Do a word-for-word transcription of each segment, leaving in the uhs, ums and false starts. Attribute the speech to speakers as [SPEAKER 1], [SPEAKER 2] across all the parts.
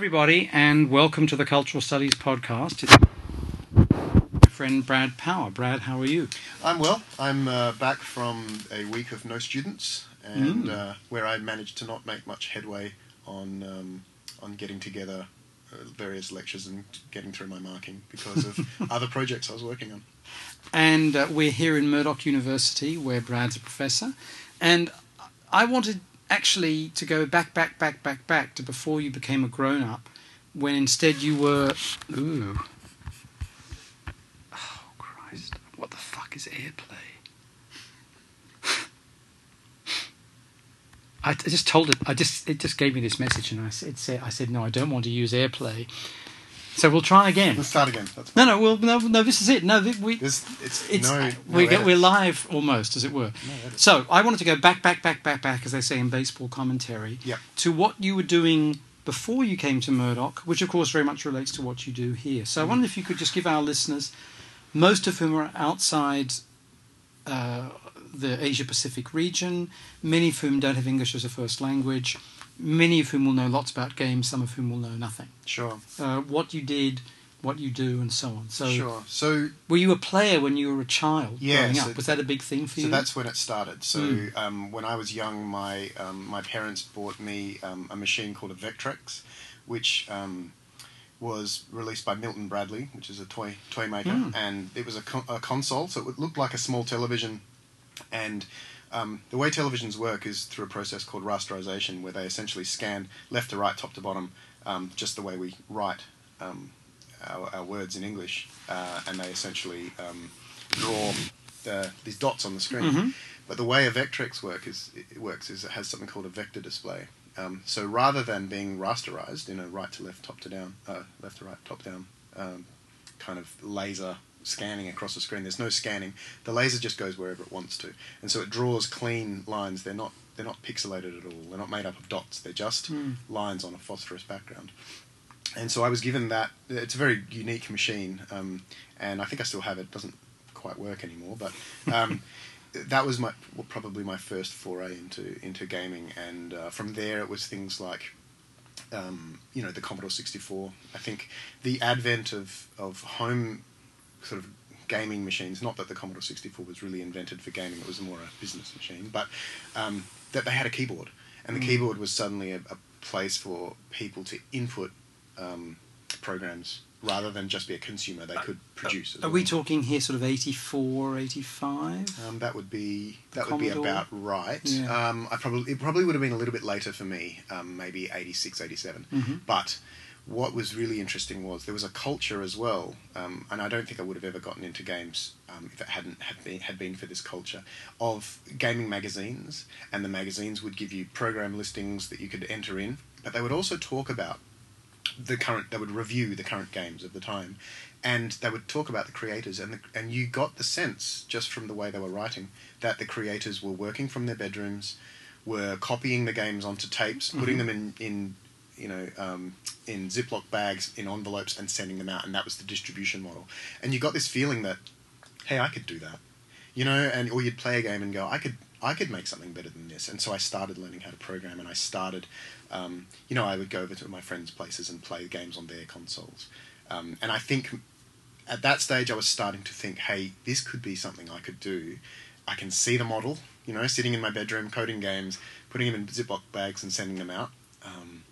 [SPEAKER 1] everybody, and welcome to the Cultural Studies Podcast. It's my friend Brad Power. Brad, how are you?
[SPEAKER 2] I'm well. I'm uh, back from a week of no students, and mm. uh, where I managed to not make much headway on um, on getting together uh, various lectures and getting through my marking because of other projects I was working on.
[SPEAKER 1] And uh, we're here in Murdoch University, where Brad's a professor, and I wanted actually to go back, back, back, back, back to before you became a grown-up, when instead you were... Ooh. Oh, Christ. What the fuck is AirPlay? I just told it... I just It just gave me this message, and I said, I said, no, I don't want to use AirPlay. So we'll try again.
[SPEAKER 2] Let's start again. That's
[SPEAKER 1] no, no, well, no, no. This is it. No, we.
[SPEAKER 2] This, it's,
[SPEAKER 1] it's
[SPEAKER 2] no,
[SPEAKER 1] we
[SPEAKER 2] no
[SPEAKER 1] get, we're live almost, as it were.
[SPEAKER 2] No
[SPEAKER 1] so I wanted to go back, back, back, back, back, as they say in baseball commentary,
[SPEAKER 2] yep.
[SPEAKER 1] to what you were doing before you came to Murdoch, which of course very much relates to what you do here. So mm. I wonder if you could just give our listeners, most of whom are outside uh, the Asia Pacific region, many of whom don't have English as a first language, many of whom will know lots about games, some of whom will know nothing.
[SPEAKER 2] Sure.
[SPEAKER 1] Uh, what you did. What you do and so on. So,
[SPEAKER 2] sure. So,
[SPEAKER 1] were you a player when you were a child
[SPEAKER 2] yeah,
[SPEAKER 1] growing
[SPEAKER 2] so
[SPEAKER 1] up? Was that a big thing for
[SPEAKER 2] so
[SPEAKER 1] you?
[SPEAKER 2] So that's when it started. So
[SPEAKER 1] mm.
[SPEAKER 2] um, when I was young, my um, my parents bought me um, a machine called a Vectrex, which um, was released by Milton Bradley, which is a toy toy maker, mm. and it was a, con- a console, so it looked like a small television. And um, the way televisions work is through a process called rasterization, where they essentially scan left to right, top to bottom, um, just the way we write Um, Our, our words in English, uh, and they essentially um, draw the, these dots on the screen.
[SPEAKER 1] Mm-hmm.
[SPEAKER 2] But the way a Vectrex work is, it works is it has something called a vector display. Um, so rather than being rasterized in a right to left, top to down, uh, left to right, top down um, kind of laser scanning across the screen, there's no scanning. The laser just goes wherever it wants to, and so it draws clean lines. They're not they're not pixelated at all. They're not made up of dots. They're just mm. lines on a phosphorus background. And so I was given that. It's a very unique machine, um, and I think I still have it. It doesn't quite work anymore, but um, that was my well, probably my first foray into into gaming. And uh, from there, it was things like, um, you know, the Commodore sixty-four. I think the advent of of home sort of gaming machines. Not that the Commodore sixty-four was really invented for gaming; it was more a business machine. But um, that they had a keyboard, and the mm. keyboard was suddenly a, a place for people to input Um, programs rather than just be a consumer. They could produce.
[SPEAKER 1] Uh,
[SPEAKER 2] as
[SPEAKER 1] are
[SPEAKER 2] well.
[SPEAKER 1] we talking here sort of eighty-four, eighty-five?
[SPEAKER 2] Um, that would be that
[SPEAKER 1] the
[SPEAKER 2] would be
[SPEAKER 1] Commodore?
[SPEAKER 2] about right.
[SPEAKER 1] Yeah.
[SPEAKER 2] Um, I probably it probably would have been a little bit later for me, um, maybe eighty-six, eighty-seven.
[SPEAKER 1] Mm-hmm.
[SPEAKER 2] But what was really interesting was there was a culture as well, um, and I don't think I would have ever gotten into games um, if it hadn't had been, had been for this culture of gaming magazines, and the magazines would give you program listings that you could enter in, but they would also talk about the current. They would review the current games of the time, and they would talk about the creators, and the, and you got the sense just from the way they were writing that the creators were working from their bedrooms, were copying the games onto tapes, putting mm-hmm. them in in you know um, in Ziploc bags, in envelopes, and sending them out, and that was the distribution model. And you got this feeling that, hey, I could do that, you know, and or you'd play a game and go, I could I could make something better than this, and so I started learning how to program, and I started. Um, you know, I would go over to my friends' places and play games on their consoles. Um, and I think at that stage I was starting to think, hey, this could be something I could do. I can see the model, you know, sitting in my bedroom, coding games, putting them in Ziploc bags and sending them out. Um,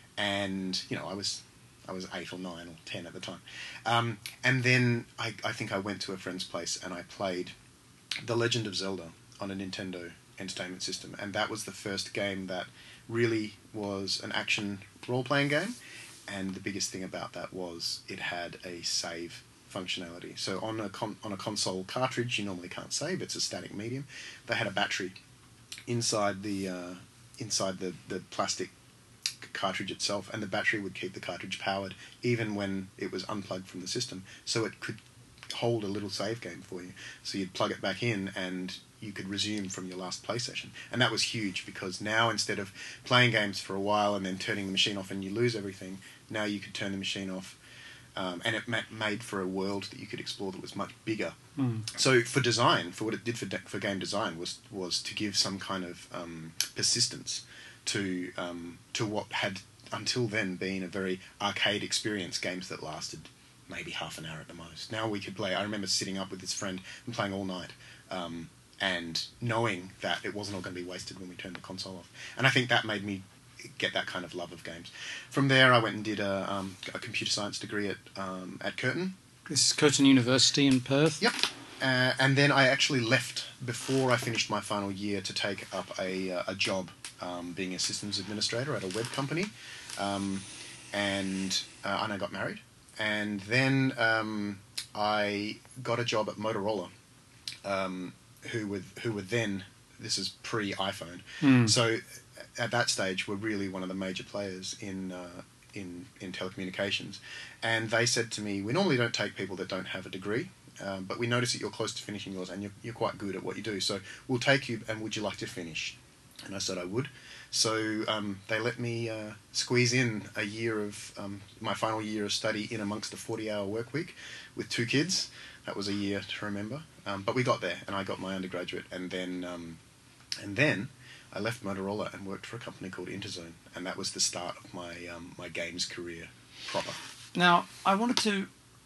[SPEAKER 2] and, you know, I was I was eight or nine or ten at the time. Um, and then I, I think I went to a friend's place and I played The Legend of Zelda on a Nintendo Entertainment System. And that was the first game that really was an action role-playing game, and the biggest thing about that was it had a save functionality. So on a con- on a console cartridge, you normally can't save; it's a static medium. They had a battery inside the uh, inside the, the plastic cartridge itself, and the battery would keep the cartridge powered even when it was unplugged from the system. So it could hold a little save game for you. So you'd plug it back in and you could resume from your last play session. And that was huge because now instead of playing games for a while and then turning the machine off and you lose everything, now you could turn the machine off um, and it ma- made for a world that you could explore that was much bigger.
[SPEAKER 1] Mm.
[SPEAKER 2] So for design, for what it did for de- for game design was was to give some kind of um, persistence to um, to what had until then been a very arcade experience, games that lasted maybe half an hour at the most. Now we could play. I remember sitting up with this friend and playing all night, um, and knowing that it wasn't all going to be wasted when we turned the console off. And I think that made me get that kind of love of games. From there, I went and did a, um, a computer science degree at um, at Curtin.
[SPEAKER 1] This is Curtin University in Perth.
[SPEAKER 2] Yep. Uh, and then I actually left before I finished my final year to take up a, uh, a job um, being a systems administrator at a web company. Um, and, uh, and I got married. And then um, I got a job at Motorola, um, who were, who were then, this is pre-iPhone.
[SPEAKER 1] Mm.
[SPEAKER 2] So at that stage were really one of the major players in, uh, in, in telecommunications. And they said to me, we normally don't take people that don't have a degree. Um, but we notice that you're close to finishing yours and you're, you're quite good at what you do. So we'll take you, and would you like to finish? And I said I would. So um, they let me uh, squeeze in a year of, um, my final year of study in amongst a forty-hour work week with two kids. That was a year to remember. Um, but we got there, and I got my undergraduate. And then, um, and then I left Motorola and worked for a company called Interzone. And that was the start of my, um, my games career proper.
[SPEAKER 1] Now, I wanted to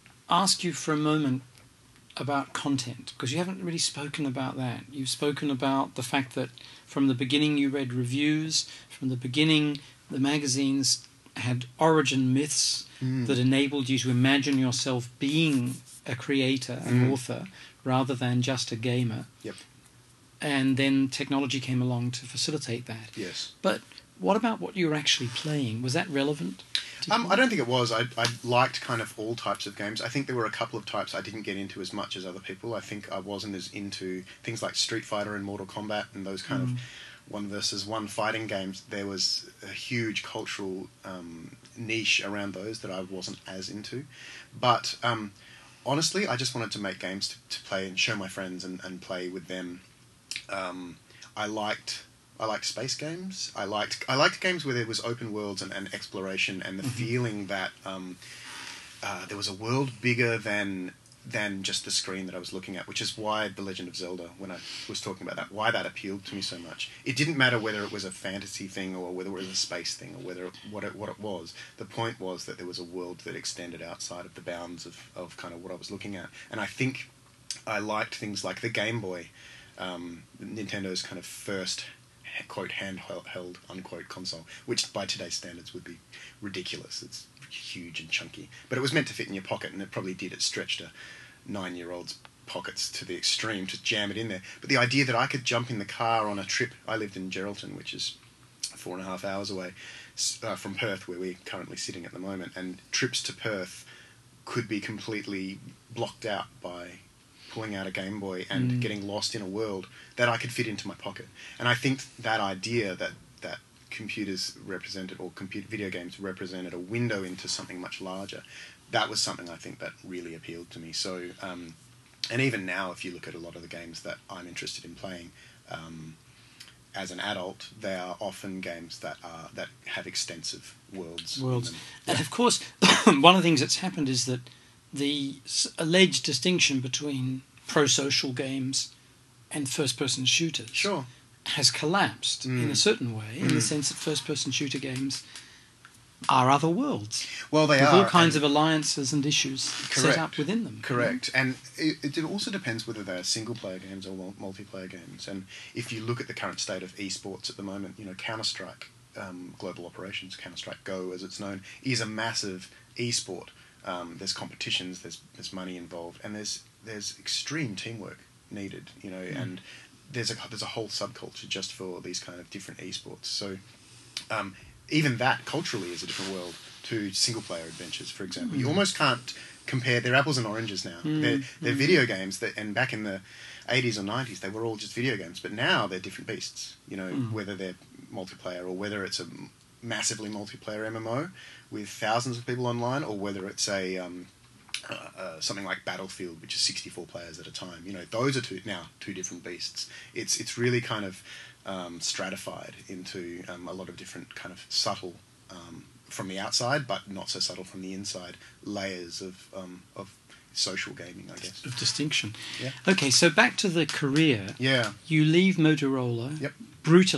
[SPEAKER 1] ask you for a moment about content, because you haven't really spoken about that. You've spoken about the fact that from the beginning you read reviews, from the beginning the magazines had origin myths mm. that enabled you to imagine yourself being a creator, an mm. author, rather than just a gamer.
[SPEAKER 2] Yep.
[SPEAKER 1] And then technology came along to facilitate that.
[SPEAKER 2] Yes.
[SPEAKER 1] But what about what you were actually playing? Was that relevant?
[SPEAKER 2] Um, I don't think it was. I, I liked kind of all types of games. I think there were a couple of types I didn't get into as much as other people. I think I wasn't as into things like Street Fighter and Mortal Kombat and those kind mm. of one versus one fighting games. There was a huge cultural um, niche around those that I wasn't as into. But um, honestly, I just wanted to make games to, to play and show my friends and, and play with them. Um, I liked... I liked space games. I liked I liked games where there was open worlds and, and exploration and the mm-hmm. feeling that um, uh, there was a world bigger than than just the screen that I was looking at, which is why The Legend of Zelda, when I was talking about that, why that appealed to me so much. It didn't matter whether it was a fantasy thing or whether it was a space thing or whether it, what it, what it was. The point was that there was a world that extended outside of the bounds of, of kind of what I was looking at. And I think I liked things like the Game Boy, um, Nintendo's kind of first quote handheld unquote console, which by today's standards would be ridiculous. It's huge and chunky, but it was meant to fit in your pocket, and it probably did. It stretched a nine-year-old's pockets to the extreme to jam it in there. But the idea that I could jump in the car on a trip, I lived in Geraldton, which is four and a half hours away uh, from Perth, where we're currently sitting at the moment, and trips to Perth could be completely blocked out by pulling out a Game Boy and mm. getting lost in a world that I could fit into my pocket. And I think that idea that, that computers represented, or computer video games represented a window into something much larger, that was something I think that really appealed to me. So, um, and even now, if you look at a lot of the games that I'm interested in playing, um, as an adult, they are often games that are that have extensive worlds.
[SPEAKER 1] Worlds.
[SPEAKER 2] In them.
[SPEAKER 1] And of course, one of the things that's happened is that the alleged distinction between pro-social games and first-person shooters
[SPEAKER 2] sure.
[SPEAKER 1] has collapsed mm. in a certain way, mm. in the sense that first-person shooter games are other worlds.
[SPEAKER 2] Well, they
[SPEAKER 1] with
[SPEAKER 2] are.
[SPEAKER 1] all kinds of alliances and issues
[SPEAKER 2] correct.
[SPEAKER 1] set up within them.
[SPEAKER 2] Correct. You know? And it, it also depends whether they're single-player games or multiplayer games. And if you look at the current state of esports at the moment, you know, Counter-Strike um, Global Operations, Counter-Strike Go as it's known, is a massive esport. Um, there's competitions, there's there's money involved, and there's there's extreme teamwork needed, you know, mm. and there's a there's a whole subculture just for these kind of different esports. So um, even that culturally is a different world to single player adventures, for example. Mm. You almost can't compare. They're apples and oranges now. Mm. They're they're mm. video games that, and back in the eighties or nineties, they were all just video games, but now they're different beasts. You know, mm. whether they're multiplayer or whether it's a massively multiplayer M M O with thousands of people online, or whether it's a um, uh, uh, something like Battlefield, which is sixty-four players at a time. You know, those are two now two different beasts. It's it's really kind of um, stratified into um, a lot of different kind of subtle um, from the outside, but not so subtle from the inside layers of um, of social gaming, I guess.
[SPEAKER 1] Of distinction.
[SPEAKER 2] Yeah.
[SPEAKER 1] Okay, so back to the career.
[SPEAKER 2] Yeah.
[SPEAKER 1] You leave Motorola.
[SPEAKER 2] Yep.
[SPEAKER 1] Brutally.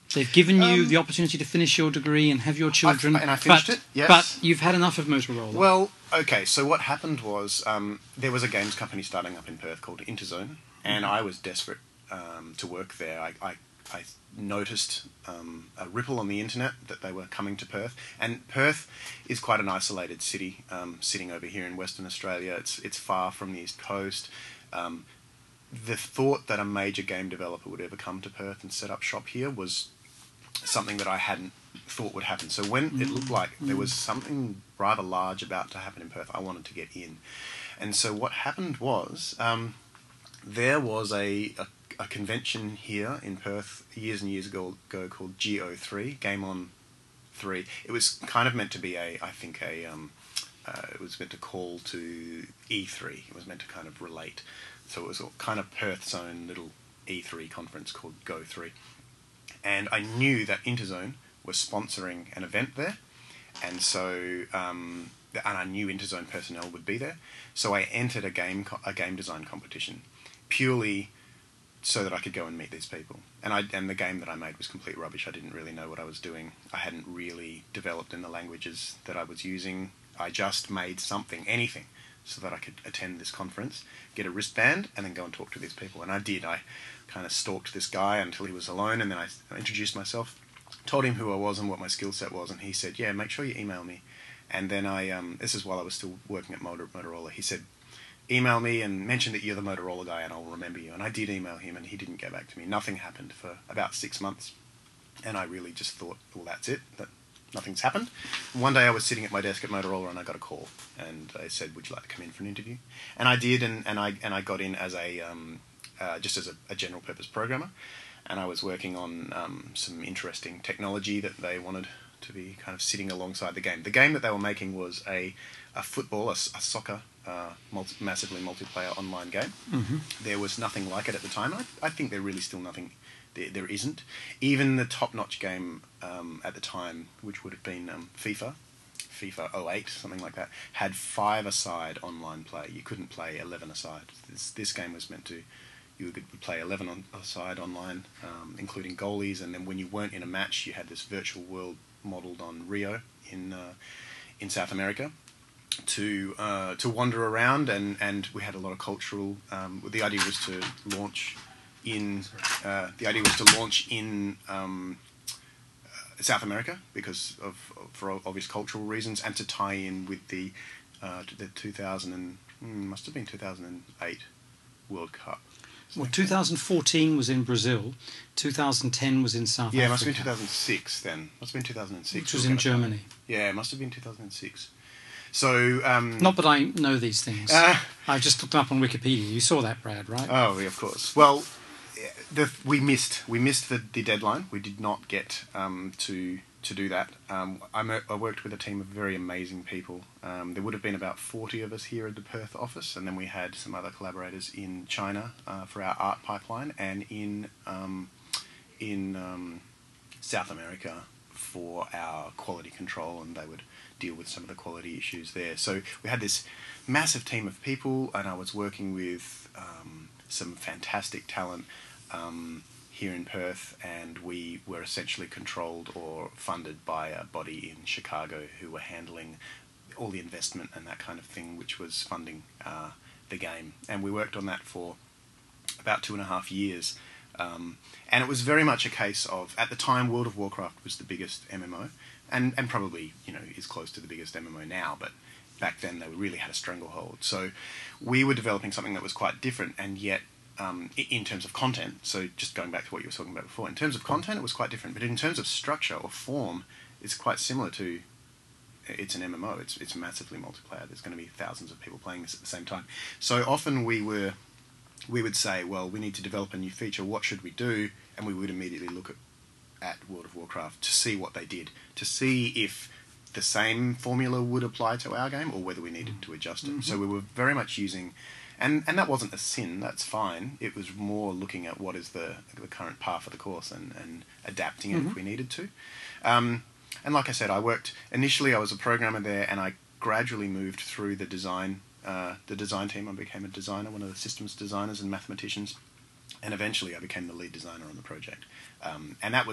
[SPEAKER 1] They've given you
[SPEAKER 2] Um,
[SPEAKER 1] the opportunity to finish your degree and have your children.
[SPEAKER 2] I, and I finished
[SPEAKER 1] but,
[SPEAKER 2] it, yes.
[SPEAKER 1] But you've had enough of Motorola.
[SPEAKER 2] Well, okay, so what happened was um, there was a games company starting up in Perth called Interzone, and I was desperate um, to work there. I, I, I noticed um, a ripple on the internet that they were coming to Perth, and Perth is quite an isolated city, um, sitting over here in Western Australia. It's, it's far from the East Coast. Um, the thought that a major game developer would ever come to Perth and set up shop here was something that I hadn't thought would happen. So when mm. it looked like there was something rather large about to happen in Perth, I wanted to get in. And so what happened was um, there was a, a, a convention here in Perth years and years ago, ago called G O three, Game On three. It was kind of meant to be a, I think, a... Um, uh, it was meant to call to E three. It was meant to kind of relate. So it was kind of Perth's own little E three conference called Go three. And I knew that Interzone was sponsoring an event there, and so um, and I knew Interzone personnel would be there. So I entered a game a game design competition purely so that I could go and meet these people. And I and the game that I made was complete rubbish. I didn't really know what I was doing. I hadn't really developed in the languages that I was using. I just made something, anything, so that I could attend this conference, get a wristband, and then go and talk to these people. And I did. I kind of stalked this guy until he was alone, and then I introduced myself, told him who I was and what my skill set was, and he said, yeah, make sure you email me. And then I, um, this is while I was still working at Motor- Motorola, he said, email me and mention that you're the Motorola guy and I'll remember you. And I did email him, and he didn't get back to me. Nothing happened for about six months. And I really just thought, well, that's it, that nothing's happened. One day I was sitting at my desk at Motorola and I got a call, and they said, would you like to come in for an interview? And I did, and, and I and I got in as a um, uh, just as a, a general purpose programmer, and I was working on um, some interesting technology that they wanted to be kind of sitting alongside the game. The game that they were making was a, a football, a, a soccer, uh, multi, massively multiplayer online game.
[SPEAKER 1] Mm-hmm.
[SPEAKER 2] There was nothing like it at the time. I, I think there really still nothing There, there isn't. Even the top-notch game um, at the time, which would have been um, FIFA, FIFA oh eight, something like that, had five-a-side online play. You couldn't play eleven-a-side. This, this game was meant to, you could play eleven-a-side online, um, including goalies, and then when you weren't in a match, you had this virtual world modelled on Rio in uh, in South America, to uh, to wander around, and, and we had a lot of cultural... Um, the idea was to launch... In uh, the idea was to launch in um, uh, South America because of, of for obvious cultural reasons, and to tie in with the uh, the two thousand and mm, must have been two thousand eight World Cup.
[SPEAKER 1] Well, two thousand fourteen was in Brazil. two thousand ten was in South
[SPEAKER 2] yeah,
[SPEAKER 1] Africa.
[SPEAKER 2] Yeah, it must have been two thousand six then. Must have been two thousand six.
[SPEAKER 1] Which was in Germany.
[SPEAKER 2] Yeah, it must have been two thousand six. So um,
[SPEAKER 1] not that I know these things. Uh, I just looked them up on Wikipedia. You saw that, Brad, right?
[SPEAKER 2] Oh, yeah, of course. Well. The, we missed we missed the, the deadline. We did not get um, to to do that. Um, I, I worked with a team of very amazing people. Um, there would have been about forty of us here at the Perth office, and then we had some other collaborators in China uh, for our art pipeline, and in um, in um, South America for our quality control, and they would deal with some of the quality issues there. So we had this massive team of people, and I was working with um, some fantastic talent Um, here in Perth, and we were essentially controlled or funded by a body in Chicago who were handling all the investment and that kind of thing, which was funding uh, the game. And we worked on that for about two and a half years. Um, and it was very much a case of, at the time, World of Warcraft was the biggest M M O, and, and probably, you know, is close to the biggest M M O now, but back then they really had a stranglehold. So we were developing something that was quite different, and yet Um, in terms of content, so just going back to what you were talking about before, in terms of content it was quite different, but in terms of structure or form, it's quite similar to, it's an M M O, it's it's massively multiplayer, there's going to be thousands of people playing this at the same time. So often we were, we would say, well, we need to develop a new feature, what should we do? And we would immediately look at, at World of Warcraft to see what they did, to see if the same formula would apply to our game, or whether we needed to adjust it. Mm-hmm. So we were very much using... And and that wasn't a sin, that's fine. It was more looking at what is the the current path of the course and, and adapting it mm-hmm. if we needed to. Um, and like I said, I worked... Initially I was a programmer there, and I gradually moved through the design uh, the design team. I became a designer, one of the systems designers and mathematicians. And eventually I became the lead designer on the project. Um, and that was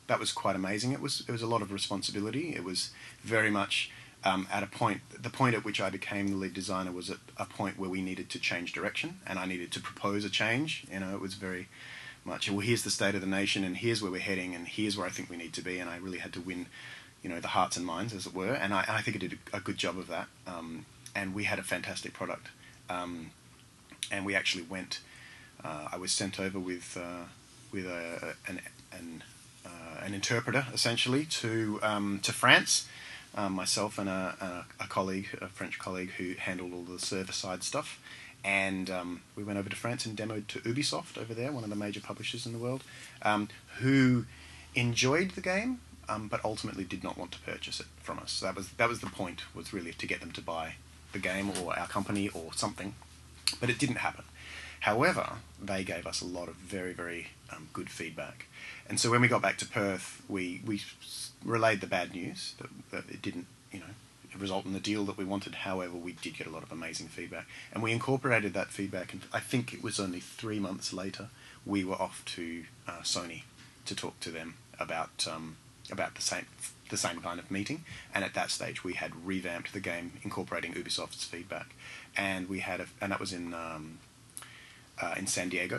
[SPEAKER 2] that was quite amazing. It was it was a lot of responsibility. It was very much um, at a point. The point at which I became the lead designer was at a point where we needed to change direction, and I needed to propose a change. You know, it was very much, well, here's the state of the nation, and here's where we're heading, and here's where I think we need to be. And I really had to win, you know, the hearts and minds, as it were. And I, and I think I did a, a good job of that. Um, and we had a fantastic product. Um, and we actually went. Uh, I was sent over with uh, with a, an an, uh, an interpreter, essentially, to um, to France. Um, myself and a, a, a colleague, a French colleague, who handled all the server side stuff. And um, we went over to France and demoed to Ubisoft over there, one of the major publishers in the world, um, who enjoyed the game, um, but ultimately did not want to purchase it from us. So that was that was the point, was really to get them to buy the game or our company or something. But it didn't happen. However, they gave us a lot of very, very um, good feedback. And so when we got back to Perth, we, we relayed the bad news, that, that it didn't, you know, result in the deal that we wanted. However, we did get a lot of amazing feedback. And we incorporated that feedback, and I think it was only three months later, we were off to uh, Sony to talk to them about um, about the same the same kind of meeting. And at that stage, we had revamped the game, incorporating Ubisoft's feedback. And we had a, and that was in... Um, Uh, in San Diego,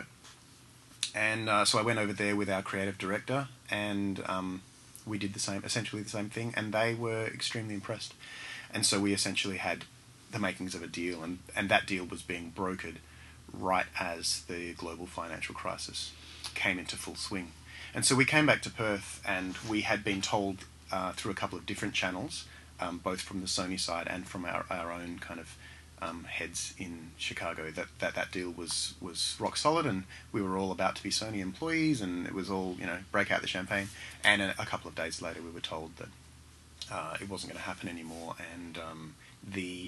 [SPEAKER 2] and uh, so I went over there with our creative director, and um, we did the same, essentially the same thing, and they were extremely impressed. And so we essentially had the makings of a deal, and, and that deal was being brokered right as the global financial crisis came into full swing. And so we came back to Perth, and we had been told uh, through a couple of different channels, um, both from the Sony side and from our, our own kind of Um, heads in Chicago, that, that that deal was, was rock solid, and we were all about to be Sony employees, and it was all, you know, break out the champagne. And a, a couple of days later, we were told that uh, it wasn't going to happen anymore, and um, the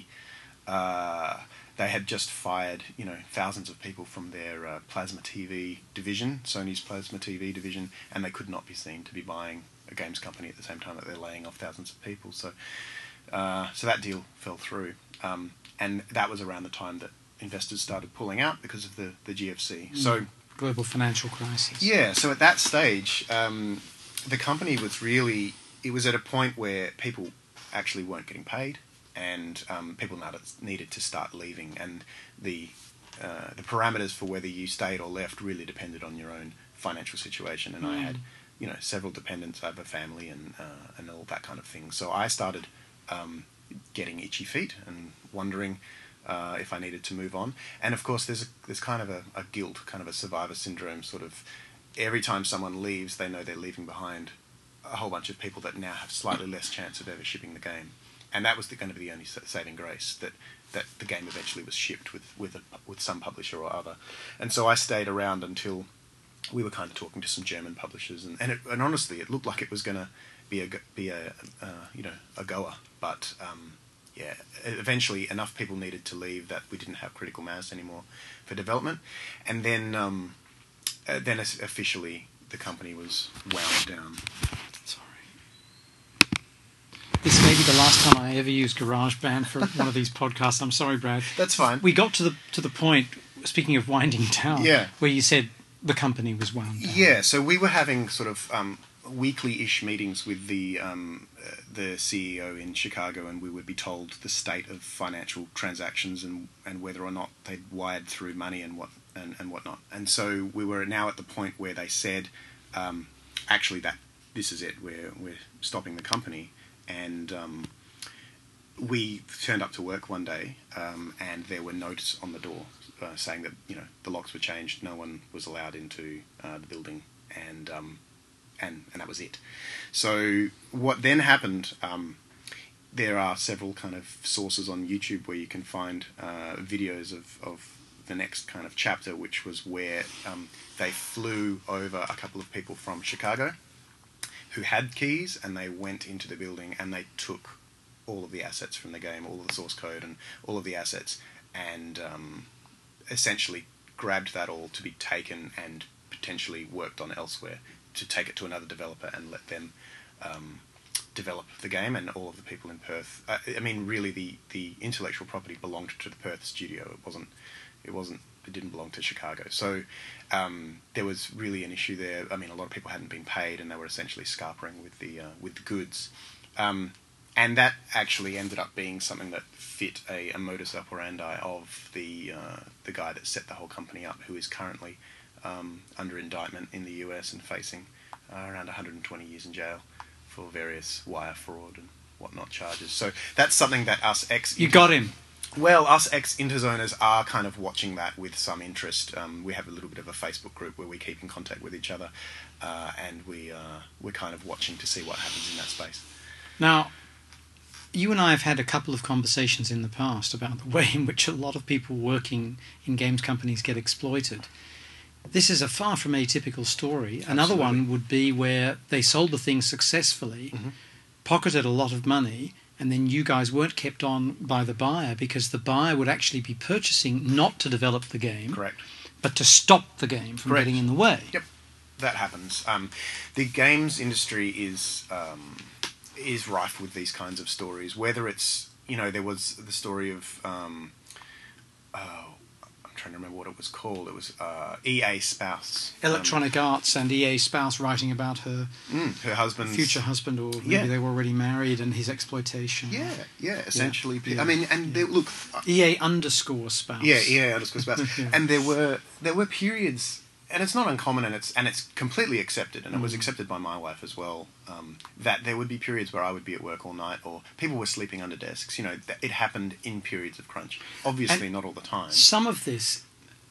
[SPEAKER 2] uh, they had just fired, you know, thousands of people from their uh, plasma T V division, Sony's plasma T V division, and they could not be seen to be buying a games company at the same time that they're laying off thousands of people. So, uh, so that deal fell through. Um, And that was around the time that investors started pulling out because of the, the G F C.
[SPEAKER 1] Mm.
[SPEAKER 2] So
[SPEAKER 1] Global financial crisis.
[SPEAKER 2] Yeah, so at that stage, um, the company was really... It was at a point where people actually weren't getting paid, and um, people needed to start leaving. And the uh, the parameters for whether you stayed or left really depended on your own financial situation. And mm. I had, you know, several dependents. I have a family and, uh, and all that kind of thing. So I started... Um, getting itchy feet and wondering uh, if I needed to move on. And of course, there's a, there's kind of a, a guilt, kind of a survivor syndrome. Sort of every time someone leaves, they know they're leaving behind a whole bunch of people that now have slightly less chance of ever shipping the game. And that was the, going to be the only saving grace, that that the game eventually was shipped with with a, with some publisher or other. And so I stayed around until we were kind of talking to some German publishers, and and, it, and honestly, it looked like it was going to be a be a uh, you know a goer, but um, yeah, eventually enough people needed to leave that we didn't have critical mass anymore for development, and then um, uh, then officially the company was wound down.
[SPEAKER 1] Sorry, this may be the last time I ever use GarageBand for one of these podcasts. I'm sorry, Brad.
[SPEAKER 2] That's fine.
[SPEAKER 1] We got to the to the point. Speaking of winding down,
[SPEAKER 2] yeah.
[SPEAKER 1] where you said the company was wound down.
[SPEAKER 2] Yeah, so we were having sort of um, weekly-ish meetings with the um, uh, the C E O in Chicago, and we would be told the state of financial transactions and, and whether or not they'd wired through money and what and, and whatnot. And so we were now at the point where they said, um, actually, that this is it. We're we're stopping the company. And um, we turned up to work one day, um, and there were notes on the door uh, saying that, you know, the locks were changed, no one was allowed into uh, the building, and um, and and that was it. So what then happened? Um, there are several kind of sources on YouTube where you can find uh, videos of, of the next kind of chapter, which was where um, they flew over a couple of people from Chicago who had keys, and they went into the building and they took all of the assets from the game, all of the source code and all of the assets, and um, essentially grabbed that all to be taken and potentially worked on elsewhere, to take it to another developer and let them um, develop the game. And all of the people in Perth, uh, I mean, really the, the intellectual property belonged to the Perth studio. It wasn't, it wasn't It didn't belong to Chicago. So um, there was really an issue there. I mean, a lot of people hadn't been paid, and they were essentially scarpering with the uh, with the goods. Um, and that actually ended up being something that fit a, a modus operandi of the uh, the guy that set the whole company up, who is currently um, under indictment in the U S and facing uh, around one hundred twenty years in jail for various wire fraud and whatnot charges. So that's something that us ex...
[SPEAKER 1] You got him.
[SPEAKER 2] Well, us ex-Interzoners are kind of watching that with some interest. Um, we have a little bit of a Facebook group where we keep in contact with each other, uh, and we, uh, we're kind of watching to see what happens in that space.
[SPEAKER 1] Now, you and I have had a couple of conversations in the past about the way in which a lot of people working in games companies get exploited. This is a far from atypical story.
[SPEAKER 2] Absolutely.
[SPEAKER 1] Another one would be where they sold the thing successfully, mm-hmm. pocketed a lot of money, and then you guys weren't kept on by the buyer because the buyer would actually be purchasing not to develop the game,
[SPEAKER 2] correct,
[SPEAKER 1] but to stop the game from
[SPEAKER 2] correct.
[SPEAKER 1] getting in the way.
[SPEAKER 2] Yep, that happens. Um, the games industry is um, is rife with these kinds of stories. Whether it's, you know, there was the story of um, oh, I'm trying to remember what it was called. It was uh, E A spouse,
[SPEAKER 1] Electronic
[SPEAKER 2] um,
[SPEAKER 1] Arts, and E A spouse writing about her
[SPEAKER 2] mm, her husband's
[SPEAKER 1] future husband, or maybe
[SPEAKER 2] yeah.
[SPEAKER 1] they were already married, and his exploitation.
[SPEAKER 2] Yeah, yeah, essentially.
[SPEAKER 1] Yeah, yeah,
[SPEAKER 2] I mean, and
[SPEAKER 1] yeah.
[SPEAKER 2] they, look,
[SPEAKER 1] E A underscore spouse.
[SPEAKER 2] Yeah, E A underscore spouse.
[SPEAKER 1] yeah.
[SPEAKER 2] And there were there were periods, and it's not uncommon, and it's and it's completely accepted, and
[SPEAKER 1] mm.
[SPEAKER 2] it was accepted by my wife as well. Um, that there would be periods where I would be at work all night, or people were sleeping under desks. You know, that it happened in periods of crunch. Obviously,
[SPEAKER 1] and
[SPEAKER 2] not all the time.
[SPEAKER 1] Some of this,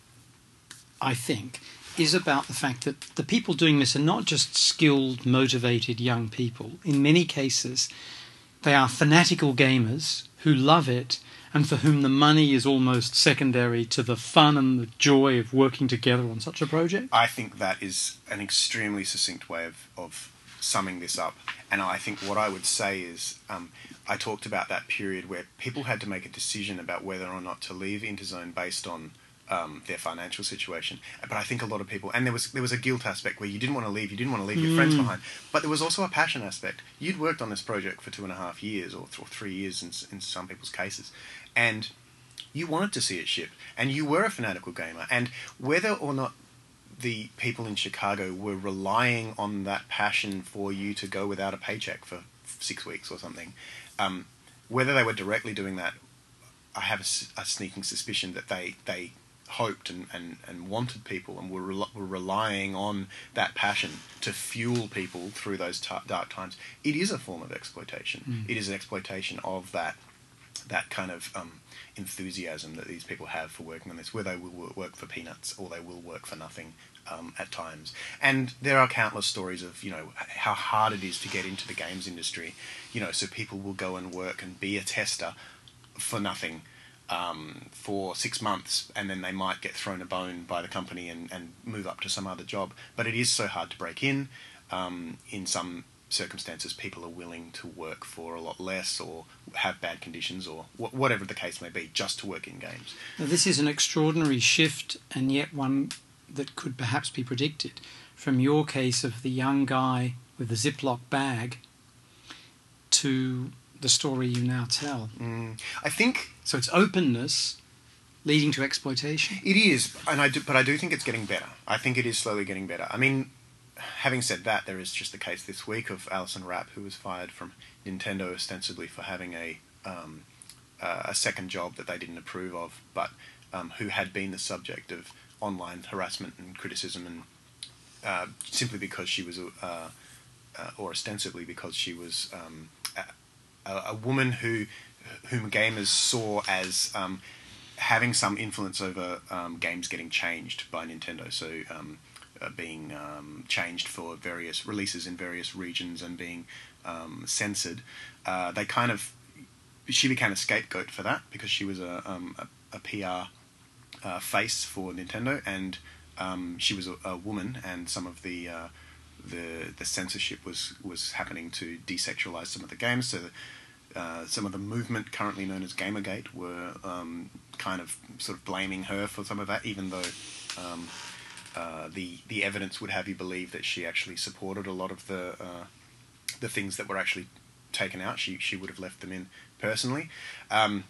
[SPEAKER 1] I think, is about the fact that the people doing this are not just skilled, motivated young people. In many cases, they are fanatical gamers who love it and for whom the money is almost secondary to the fun and the joy of working together on such a project.
[SPEAKER 2] I think that is an extremely succinct way of, of summing this up. And I think what I would say is, um, I talked about that period where people had to make a decision about whether or not to leave Interzone based on Um, their financial situation. But I think a lot of people, and there was there was a guilt aspect where you didn't want to leave, you didn't want to leave your mm. friends behind, but there was also a passion aspect. You'd worked on this project for two and a half years, or, th- or three years in, in some people's cases, and you wanted to see it ship, and you were a fanatical gamer, and whether or not the people in Chicago were relying on that passion for you to go without a paycheck for six weeks or something, um, whether they were directly doing that, I have a, a sneaking suspicion that they, they hoped and, and, and wanted people and were, re- were relying on that passion to fuel people through those t- dark times. It is a form of exploitation. Mm. It is an exploitation of that that kind of um, enthusiasm that these people have for working on this, where they will work for peanuts or they will work for nothing um, at times. And there are countless stories of, you know, how hard it is to get into the games industry. You know, so people will go and work and be a tester for nothing Um, for six months, and then they might get thrown a bone by the company and, and move up to some other job. But it is so hard to break in. Um, in some circumstances, people are willing to work for a lot less or have bad conditions or wh- whatever the case may be, just to work in games.
[SPEAKER 1] Now, this is an extraordinary shift, and yet one that could perhaps be predicted from your case of the young guy with the Ziploc bag to the story you now tell.
[SPEAKER 2] Mm, I think...
[SPEAKER 1] So it's openness leading to exploitation?
[SPEAKER 2] It is, and I do, but I do think it's getting better. I think it is slowly getting better. I mean, having said that, there is just the case this week of Alison Rapp, who was fired from Nintendo ostensibly for having a um, uh, a second job that they didn't approve of, but um, who had been the subject of online harassment and criticism, and uh, simply because she was, a, uh, uh, or ostensibly because she was um, a, a woman who whom gamers saw as um, having some influence over um, games getting changed by Nintendo. So um, uh, being um, changed for various releases in various regions and being um, censored. Uh, they kind of she became a scapegoat for that because she was a um, a, a P R uh, face for Nintendo, and um, she was a, a woman, and some of the uh, the the censorship was was happening to desexualize some of the games. So. The, Uh, some of the movement currently known as Gamergate were um, kind of sort of blaming her for some of that, even though um, uh, the the evidence would have you believe that she actually supported a lot of the uh, the things that were actually taken out. She she would have left them in personally. Um,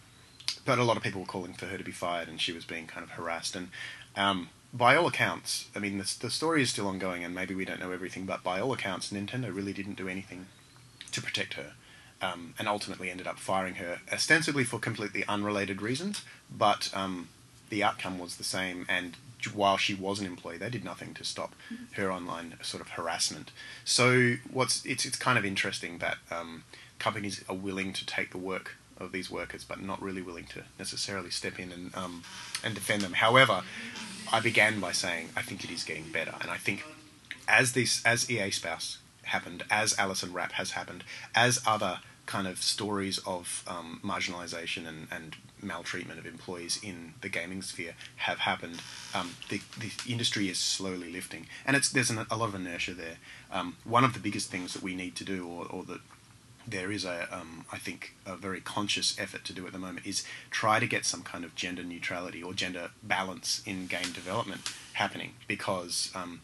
[SPEAKER 2] but a lot of people were calling for her to be fired, and she was being kind of harassed. And um, by all accounts, I mean, the, the story is still ongoing, and maybe we don't know everything, but by all accounts, Nintendo really didn't do anything to protect her, um, and ultimately ended up firing her, ostensibly for completely unrelated reasons, but um, the outcome was the same, and while she was an employee, they did nothing to stop her online sort of harassment. So what's it's it's kind of interesting that um, companies are willing to take the work of these workers, but not really willing to necessarily step in and um, and defend them. However, I began by saying I think it is getting better, and I think as this as E A Spouse happened, as Alison Rapp has happened, as other kind of stories of um, marginalisation and, and maltreatment of employees in the gaming sphere have happened, um, the, the industry is slowly lifting, and it's there's an, a lot of inertia there. Um, one of the biggest things that we need to do, or, or that there is a, um, I think, a very conscious effort to do at the moment, is try to get some kind of gender neutrality or gender balance in game development happening, because um,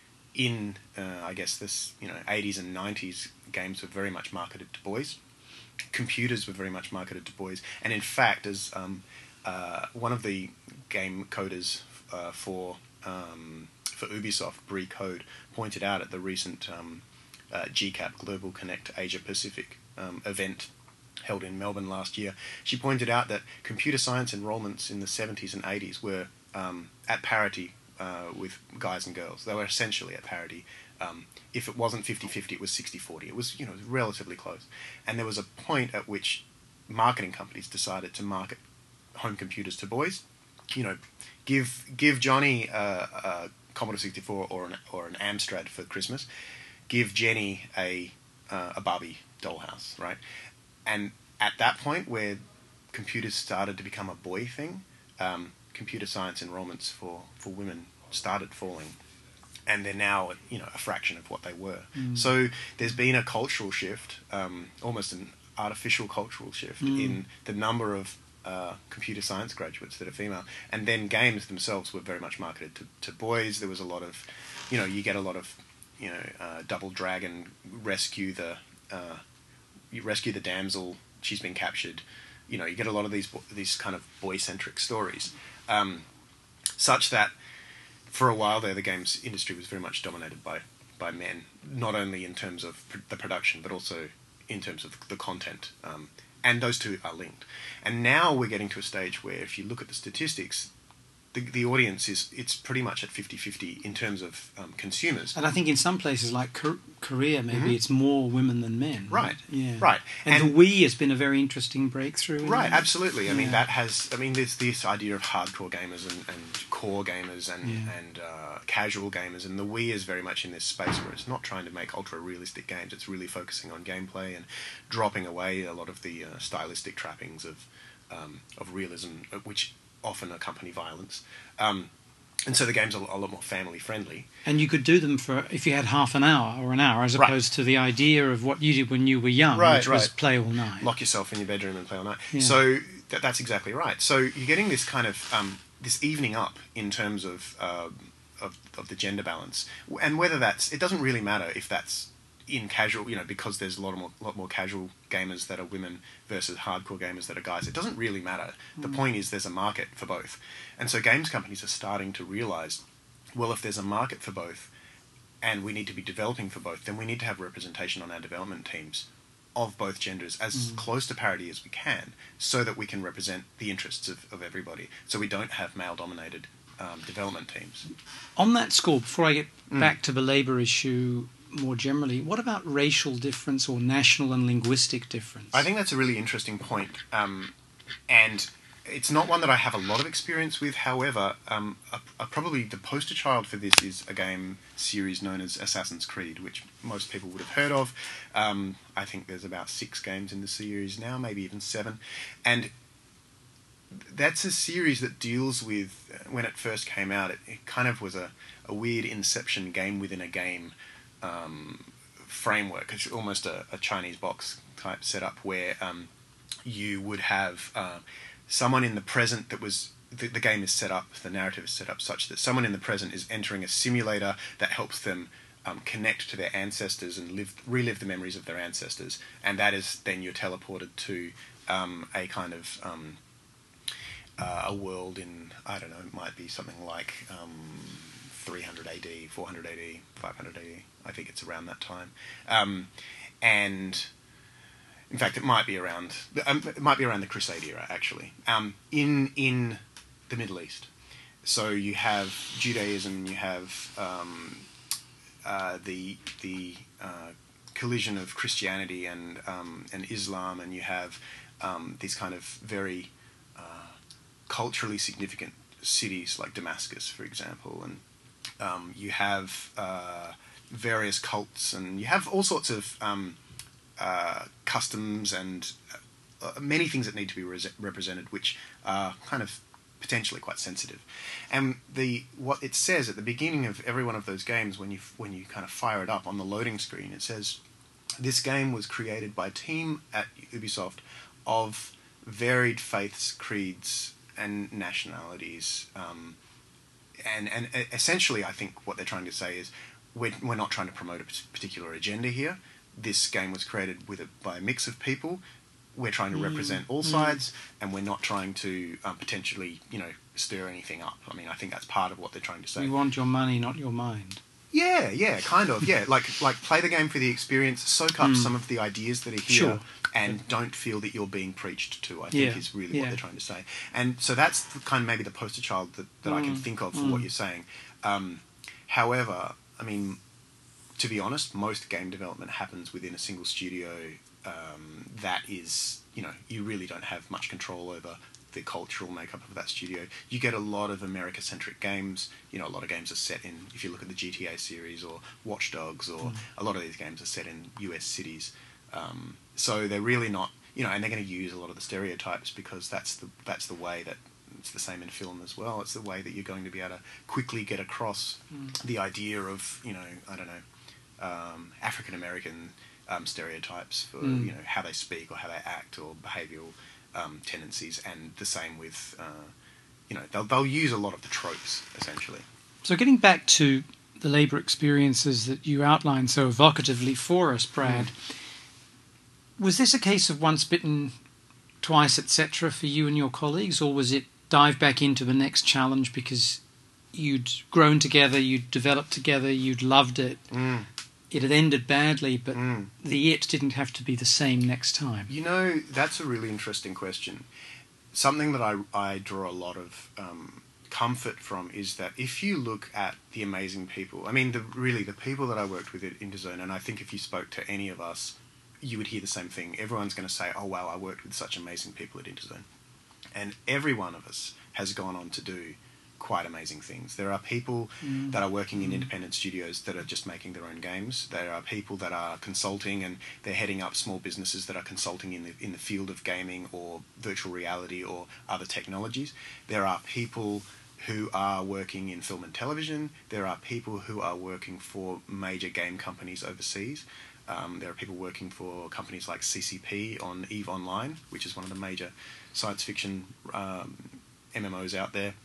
[SPEAKER 2] in uh, I guess this you know eighties and nineties games were very much marketed to boys. Computers were very much marketed to boys, and in fact, as um, uh, one of the game coders uh, for um, for Ubisoft, Brie Code, pointed out at the recent um, uh, G CAP Global Connect Asia Pacific um, event held in Melbourne last year, she pointed out that computer science enrolments in the seventies and eighties were um, at parity uh, with guys and girls. They were essentially at parity. Um, if it wasn't fifty-fifty, it was sixty forty. It was, you know, relatively close. And there was a point at which marketing companies decided to market home computers to boys. You know, give give Johnny a, a Commodore sixty-four or an or an Amstrad for Christmas. Give Jenny a uh, a Barbie dollhouse, right? And at that point, where computers started to become a boy thing, um, computer science enrollments for, for women started falling. And they're now, you know, a fraction of what they were. Mm. So there's been a cultural shift, um, almost an artificial cultural shift mm. in the number of uh, computer science graduates that are female. And then games themselves were very much marketed to, to boys. There was a lot of, you know, you get a lot of, you know, uh, Double Dragon, rescue the, uh, you rescue the damsel, she's been captured. You know, you get a lot of these these kind of boy-centric stories, um, such that for a while there, the games industry was very much dominated by, by men, not only in terms of pr- the production, but also in terms of the content. Um, and those two are linked. And now we're getting to a stage where if you look at the statistics, the, the audience is, it's pretty much at fifty-fifty in terms of um, consumers.
[SPEAKER 1] And I think in some places like K- Korea, maybe mm-hmm. it's more women than men.
[SPEAKER 2] Right,
[SPEAKER 1] right. Yeah.
[SPEAKER 2] right.
[SPEAKER 1] And, and the Wii has been a very interesting breakthrough.
[SPEAKER 2] Right,
[SPEAKER 1] that.
[SPEAKER 2] absolutely. I
[SPEAKER 1] yeah.
[SPEAKER 2] mean, that has, I mean, there's this idea of hardcore gamers and, and core gamers and,
[SPEAKER 1] yeah.
[SPEAKER 2] and uh, casual gamers, and the Wii is very much in this space where it's not trying to make ultra-realistic games, it's really focusing on gameplay and dropping away a lot of the uh, stylistic trappings of, um, of realism, which often accompany violence. Um, and so the games are a lot more family-friendly.
[SPEAKER 1] And you could do them for, if you had half an hour or an hour, as
[SPEAKER 2] right.
[SPEAKER 1] opposed to the idea of what you did when you were young,
[SPEAKER 2] right,
[SPEAKER 1] which
[SPEAKER 2] right.
[SPEAKER 1] was play all night.
[SPEAKER 2] Lock yourself in your bedroom and play all night.
[SPEAKER 1] Yeah.
[SPEAKER 2] So th- that's exactly right. So you're getting this kind of, um, this evening up in terms of, uh, of of the gender balance. And whether that's, it doesn't really matter if that's in casual, you know, because there's a lot more, lot more casual gamers that are women versus hardcore gamers that are guys. It doesn't really matter. The mm. point is there's a market for both. And so games companies are starting to realise, well, if there's a market for both and we need to be developing for both, then we need to have representation on our development teams of both genders as mm. close to parity as we can, so that we can represent the interests of, of everybody, so we don't have male-dominated um, development teams.
[SPEAKER 1] On that score, before I get
[SPEAKER 2] mm.
[SPEAKER 1] back to the labour issue more generally, what about racial difference or national and linguistic difference?
[SPEAKER 2] I think that's a really interesting point, um, and it's not one that I have a lot of experience with. However, um, a, a probably the poster child for this is a game series known as Assassin's Creed, which most people would have heard of. Um, I think there's about six games in the series now, maybe even seven. And that's a series that deals with, when it first came out, it, it kind of was a, a weird Inception game within a game um, framework. It's almost a, a Chinese box type setup where um, you would have Uh, someone in the present that was, the, the game is set up, the narrative is set up such that someone in the present is entering a simulator that helps them um, connect to their ancestors and live, relive the memories of their ancestors. And that is then you're teleported to um, a kind of um, uh, a world in, I don't know, it might be something like um, three hundred A D, four hundred A D, five hundred A D. I think it's around that time. Um, and in fact, it might be around. Um, it might be around the Crusade era, actually. Um, in in the Middle East. So you have Judaism, you have um, uh, the the uh, collision of Christianity and um, and Islam, and you have um, these kind of very uh, culturally significant cities like Damascus, for example, and um, you have uh, various cults, and you have all sorts of um, uh, customs and uh, many things that need to be re- represented, which are kind of potentially quite sensitive. And the what it says at the beginning of every one of those games, when you when you kind of fire it up on the loading screen, it says, "This game was created by a team at Ubisoft of varied faiths, creeds, and nationalities." Um, and and essentially, I think what they're trying to say is, we're we're not trying to promote a particular agenda here. This game was created with a, by a mix of people. We're trying to represent all sides, mm. and we're not trying to um, potentially, you know, stir anything up. I mean, I think that's part of what they're trying to say.
[SPEAKER 1] We want your money, not your mind.
[SPEAKER 2] Yeah, yeah, kind of, yeah. like, like play the game for the experience, soak up mm. some of the ideas that are here,
[SPEAKER 1] sure.
[SPEAKER 2] and yeah. don't feel that you're being preached to, I think
[SPEAKER 1] yeah.
[SPEAKER 2] is really
[SPEAKER 1] yeah.
[SPEAKER 2] what they're trying to say. And so that's the kind of maybe the poster child that, that mm. I can think of for mm. what you're saying. Um, however, I mean, to be honest, most game development happens within a single studio. Um, that is, you know, you really don't have much control over the cultural makeup of that studio. You get a lot of America-centric games. You know, a lot of games are set in, if you look at the G T A series or Watch Dogs, or mm. a lot of these games are set in U S cities. Um, so they're really not, you know, and they're going to use a lot of the stereotypes because that's the that's the way that, it's the same in film as well. It's the way that you're going to be able to quickly get across mm. the idea of, you know, I don't know, um, African-American Um, stereotypes for mm. you know, how they speak or how they act or behavioural um, tendencies, and the same with uh, you know, they'll they'll use a lot of the tropes essentially.
[SPEAKER 1] So getting back to the labour experiences that you outlined so evocatively for us, Brad, mm. was this a case of once bitten, twice, et cetera, for you and your colleagues, or was it dive back into the next challenge because you'd grown together, you'd developed together, you'd loved it? Mm. It had ended badly, but mm. the it didn't have to be the same next time.
[SPEAKER 2] You know, that's a really interesting question. Something that I, I draw a lot of um, comfort from is that if you look at the amazing people, I mean, the, really, the people that I worked with at Interzone, and I think if you spoke to any of us, you would hear the same thing. Everyone's going to say, oh, wow, I worked with such amazing people at Interzone. And every one of us has gone on to do quite amazing things. There are people mm. that are working in independent studios that are just making their own games. There are people that are consulting, and they're heading up small businesses that are consulting in the in the field of gaming or virtual reality or other technologies. There are people who are working in film and television. There are people who are working for major game companies overseas. Um, there are people working for companies like C C P on EVE Online, which is one of the major science fiction um, M M Os out there.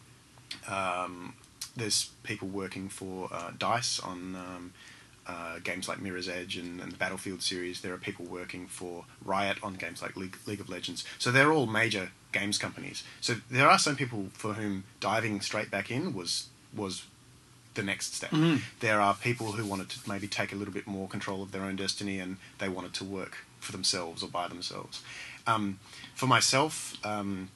[SPEAKER 2] Um, there's people working for uh, DICE on um, uh, games like Mirror's Edge and, and the Battlefield series. There are people working for Riot on games like League, League of Legends. So they're all major games companies. So there are some people for whom diving straight back in was was the next step. Mm-hmm. There are people who wanted to maybe take a little bit more control of their own destiny, and they wanted to work for themselves or by themselves. Um, for myself, um,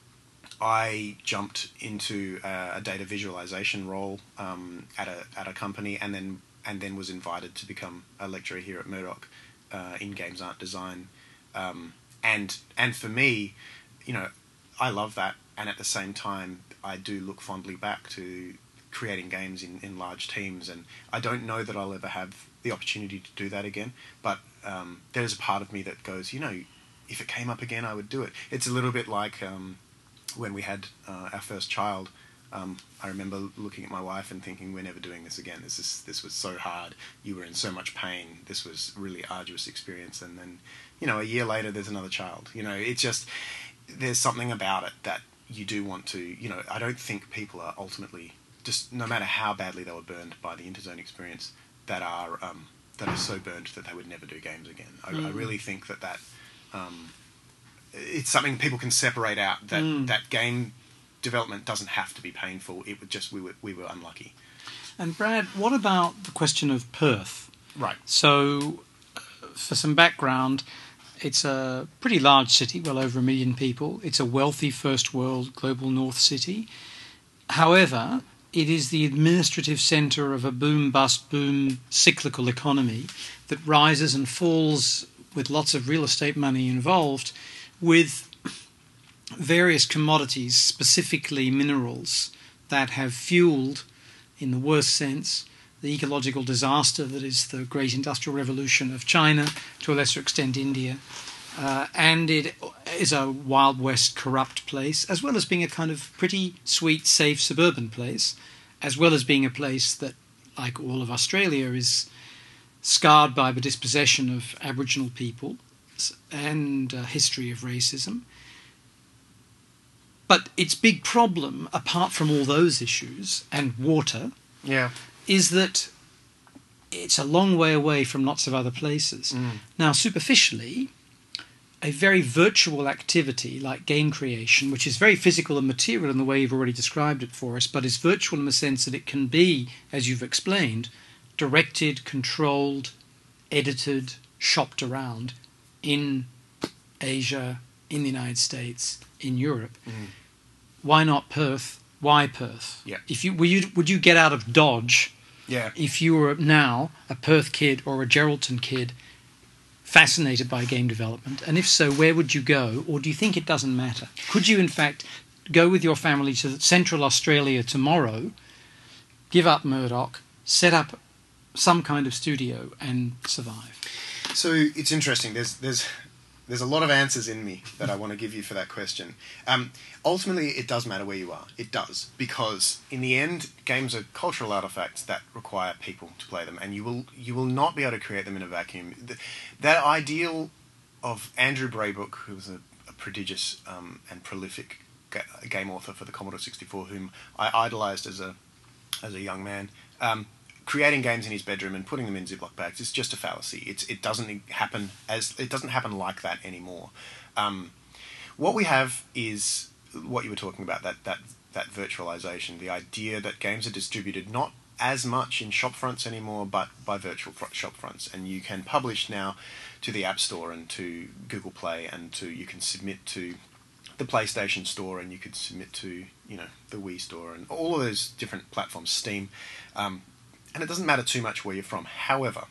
[SPEAKER 2] I jumped into a, a data visualization role um, at a at a company, and then and then was invited to become a lecturer here at Murdoch uh, in games art design. Um, and and for me, you know, I love that, and at the same time, I do look fondly back to creating games in, in large teams, and I don't know that I'll ever have the opportunity to do that again. But um, there's a part of me that goes, you know, if it came up again, I would do it. It's a little bit like Um, when we had uh, our first child. um, I remember looking at my wife and thinking, we're never doing this again. This is this was so hard. You were in so much pain. This was a really arduous experience. And then, you know, a year later, there's another child. You know, it's just, there's something about it that you do want to, you know, I don't think people are ultimately, just no matter how badly they were burned by the Interzone experience, that are um, that are so burned that they would never do games again. I, mm. I really think that that... Um, it's something people can separate out, that, mm. that game development doesn't have to be painful. It would just we were we were unlucky.
[SPEAKER 1] And Brad, what about the question of Perth?
[SPEAKER 2] Right.
[SPEAKER 1] So, uh, for some background, it's a pretty large city, well over a million people. It's a wealthy first world global north city. However, it is the administrative centre of a boom-bust-boom cyclical economy that rises and falls with lots of real estate money involved, with various commodities, specifically minerals, that have fueled, in the worst sense, the ecological disaster that is the great industrial revolution of China, to a lesser extent India. Uh, and it is a Wild West corrupt place, as well as being a kind of pretty sweet, safe suburban place, as well as being a place that, like all of Australia, is scarred by the dispossession of Aboriginal people and a history of racism. But its big problem, apart from all those issues, and water,
[SPEAKER 2] yeah,
[SPEAKER 1] is that it's a long way away from lots of other places.
[SPEAKER 2] Mm.
[SPEAKER 1] Now, superficially, a very virtual activity like game creation, which is very physical and material in the way you've already described it for us, but is virtual in the sense that it can be, as you've explained, directed, controlled, edited, shopped around in Asia, in the United States, in Europe.
[SPEAKER 2] Mm.
[SPEAKER 1] Why not Perth? Why Perth?
[SPEAKER 2] Yeah.
[SPEAKER 1] If you, would you would you get out of Dodge
[SPEAKER 2] Yeah.
[SPEAKER 1] if you were now a Perth kid or a Geraldton kid fascinated by game development? And if so, where would you go? Or do you think it doesn't matter? Could you, in fact, go with your family to Central Australia tomorrow, give up Murdoch, set up some kind of studio and survive?
[SPEAKER 2] So it's interesting. There's there's there's a lot of answers in me that I want to give you for that question. Um, ultimately, it does matter where you are. It does, because in the end, games are cultural artifacts that require people to play them, and you will you will not be able to create them in a vacuum. The, that ideal of Andrew Braybrook, who was a, a prodigious um, and prolific ga- game author for the Commodore sixty-four, whom I idolised as a as a young man. Um, creating games in his bedroom and putting them in Ziploc bags is just a fallacy. It's it doesn't happen as it doesn't happen like that anymore. Um, what we have is what you were talking about, that that that virtualization, the idea that games are distributed not as much in shop fronts anymore, but by virtual fr- shop fronts, and you can publish now to the App Store and to Google Play, and to you can submit to the PlayStation Store, and you could submit to you know the Wii Store and all of those different platforms, Steam. Um, And it doesn't matter too much where you're from. However,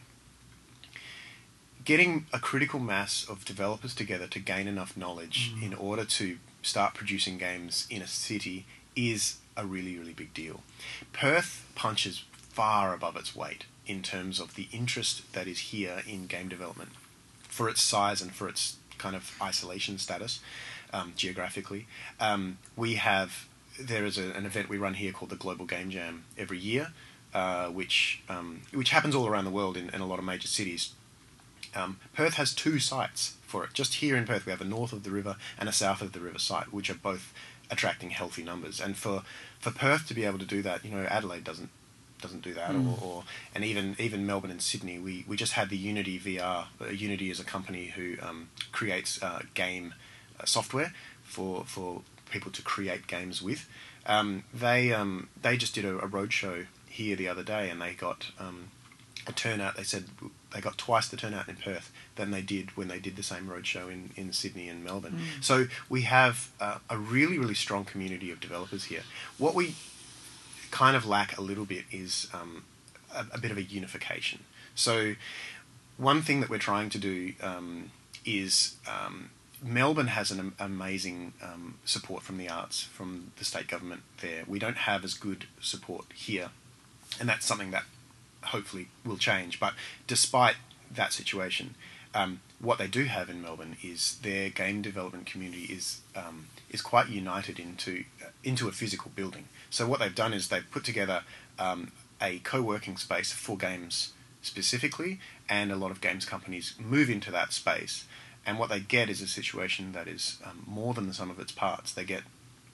[SPEAKER 2] getting a critical mass of developers together to gain enough knowledge mm. in order to start producing games in a city is a really, really big deal. Perth punches far above its weight in terms of the interest that is here in game development, for its size and for its kind of isolation status um, geographically. Um, we have, there is a, an event we run here called the Global Game Jam every year, Uh, which um, which happens all around the world in, in a lot of major cities. Um, Perth has two sites for it. Just here in Perth, we have a north of the river and a south of the river site, which are both attracting healthy numbers. And for, for Perth to be able to do that, you know, Adelaide doesn't doesn't do that, mm. or, or and even even Melbourne and Sydney. We, we just had the Unity V R. Uh, Unity is a company who um, creates uh, game uh, software for for people to create games with. Um, they um, they just did a, a roadshow here the other day, and they got um, a turnout. They said they got twice the turnout in Perth than they did when they did the same roadshow in, in Sydney and Melbourne. Mm. So we have uh, a really, really strong community of developers here. What we kind of lack a little bit is um, a, a bit of a unification. So one thing that we're trying to do um, is um, Melbourne has an am- amazing um, support from the arts, from the state government there. We don't have as good support here. And that's something that hopefully will change. But despite that situation, um, what they do have in Melbourne is their game development community is um, is quite united into uh, into a physical building. So what they've done is they've put together um, a co-working space for games specifically, and a lot of games companies move into that space. And what they get is a situation that is um, more than the sum of its parts. They get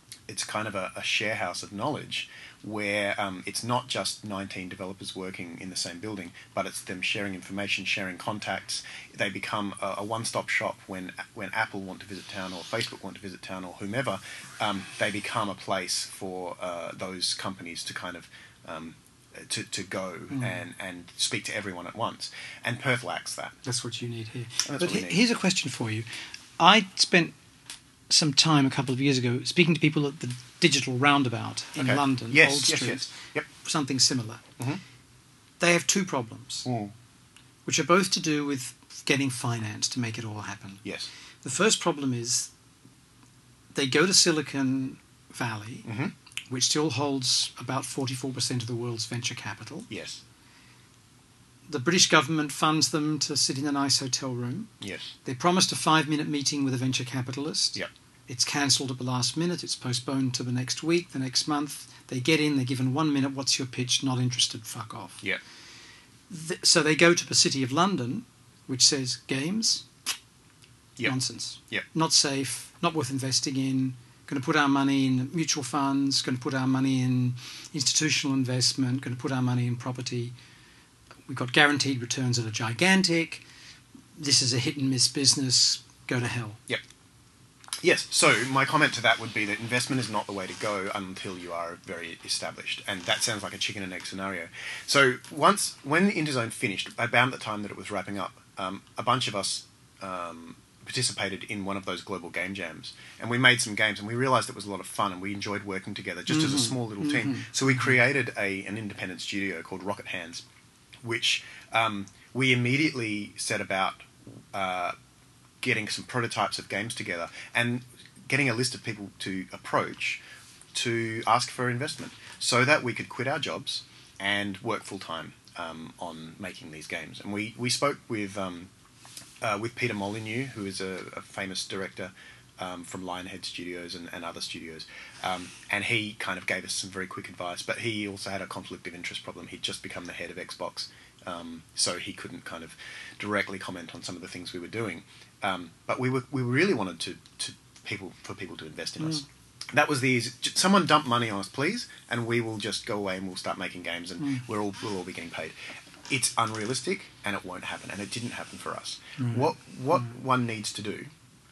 [SPEAKER 2] it's kind of a, a share house of knowledge where um, it's not just nineteen developers working in the same building, but it's them sharing information, sharing contacts. They become a, a one-stop shop when when Apple want to visit town or Facebook want to visit town or whomever. Um, they become a place for uh, those companies to kind of um, to, to go mm. and, and speak to everyone at once. And Perth lacks that.
[SPEAKER 1] That's what you need here.
[SPEAKER 2] But
[SPEAKER 1] he,
[SPEAKER 2] need.
[SPEAKER 1] Here's a question for you. I spent some time a couple of years ago speaking to people at the Digital Roundabout in
[SPEAKER 2] okay.
[SPEAKER 1] London,
[SPEAKER 2] yes,
[SPEAKER 1] Old
[SPEAKER 2] yes,
[SPEAKER 1] Street,
[SPEAKER 2] yes. Yep.
[SPEAKER 1] something similar.
[SPEAKER 2] Mm-hmm.
[SPEAKER 1] They have two problems,
[SPEAKER 2] mm.
[SPEAKER 1] which are both to do with getting finance to make it all happen.
[SPEAKER 2] Yes.
[SPEAKER 1] The first problem is they go to Silicon Valley,
[SPEAKER 2] mm-hmm.
[SPEAKER 1] which still holds about forty-four percent of the world's venture capital.
[SPEAKER 2] Yes.
[SPEAKER 1] The British government funds them to sit in a nice hotel room.
[SPEAKER 2] Yes.
[SPEAKER 1] They promised a five-minute meeting with a venture capitalist.
[SPEAKER 2] Yep.
[SPEAKER 1] It's cancelled at the last minute. It's postponed to the next week, the next month. They get in, they're given one minute. What's your pitch? Not interested. Fuck off.
[SPEAKER 2] Yep.
[SPEAKER 1] Th- so they go to the City of London, which says games?
[SPEAKER 2] Yep.
[SPEAKER 1] Nonsense.
[SPEAKER 2] Yep.
[SPEAKER 1] Not safe, not worth investing in. Going to put our money in mutual funds, going to put our money in institutional investment, going to put our money in property. We've got guaranteed returns that are gigantic. This is a hit and miss business. Go to hell.
[SPEAKER 2] Yep. Yes, so my comment to that would be that investment is not the way to go until you are very established, and that sounds like a chicken and egg scenario. So once, when Interzone finished, about the time that it was wrapping up, um, a bunch of us um, participated in one of those global game jams, and we made some games, and we realised it was a lot of fun, and we enjoyed working together just mm-hmm. as a small little team.
[SPEAKER 1] Mm-hmm.
[SPEAKER 2] So we created a an independent studio called Rocket Hands, which um, we immediately set about uh, getting some prototypes of games together and getting a list of people to approach to ask for investment so that we could quit our jobs and work full-time um, on making these games. And we, we spoke with um, uh, with Peter Molyneux, who is a, a famous director um, from Lionhead Studios and, and other studios, um, and he kind of gave us some very quick advice, but he also had a conflict of interest problem. He'd just become the head of Xbox, um, so he couldn't kind of directly comment on some of the things we were doing. Um, but we were we really wanted to, to people for people to invest in mm. us. That was the easy. Someone dump money on us, please, and we will just go away and we'll start making games, and mm. we're all we'll all be getting paid. It's unrealistic, and it won't happen, and it didn't happen for us. Mm. What what mm. one needs to do,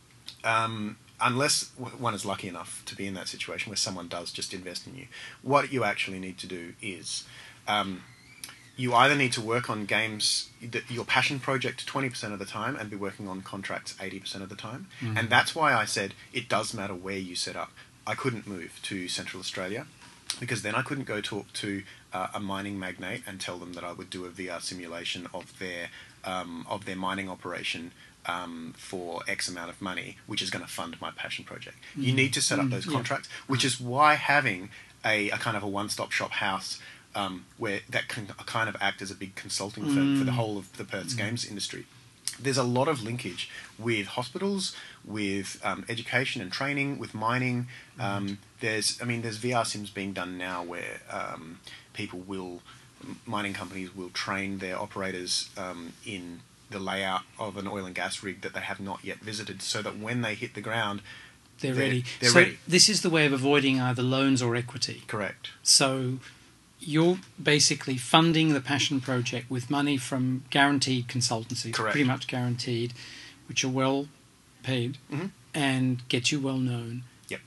[SPEAKER 2] um, unless one is lucky enough to be in that situation where someone does just invest in you, what you actually need to do is. Um, You either need to work on games, your passion project twenty percent of the time and be working on contracts eighty percent of the time. Mm. And that's why I said it does matter where you set up. I couldn't move to Central Australia because then I couldn't go talk to uh, a mining magnate and tell them that I would do a V R simulation of their, um, of their mining operation um, for X amount of money, which is going to fund my passion project. Mm. You need to set up mm. those contracts, yeah. which is why having a, a kind of a one-stop shop house Um, where that can kind of act as a big consulting firm mm. for the whole of the Perth's mm. games industry. There's a lot of linkage with hospitals, with um, education and training, with mining. Um, there's, I mean, there's V R sims being done now where um, people will, mining companies will train their operators um, in the layout of an oil and gas rig that they have not yet visited, so that when they hit the ground,
[SPEAKER 1] they're,
[SPEAKER 2] they're
[SPEAKER 1] ready.
[SPEAKER 2] They're
[SPEAKER 1] so
[SPEAKER 2] ready.
[SPEAKER 1] This is the way of avoiding either loans or equity.
[SPEAKER 2] Correct.
[SPEAKER 1] So you're basically funding the passion project with money from guaranteed consultancies,
[SPEAKER 2] Correct.
[SPEAKER 1] pretty much guaranteed, which are well paid
[SPEAKER 2] mm-hmm.
[SPEAKER 1] and get you well known.
[SPEAKER 2] Yep.